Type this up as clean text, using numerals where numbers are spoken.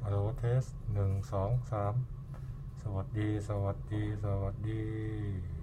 ฮัลโหลเทส1 2 3สวัสดีสวัสดีสวัสดี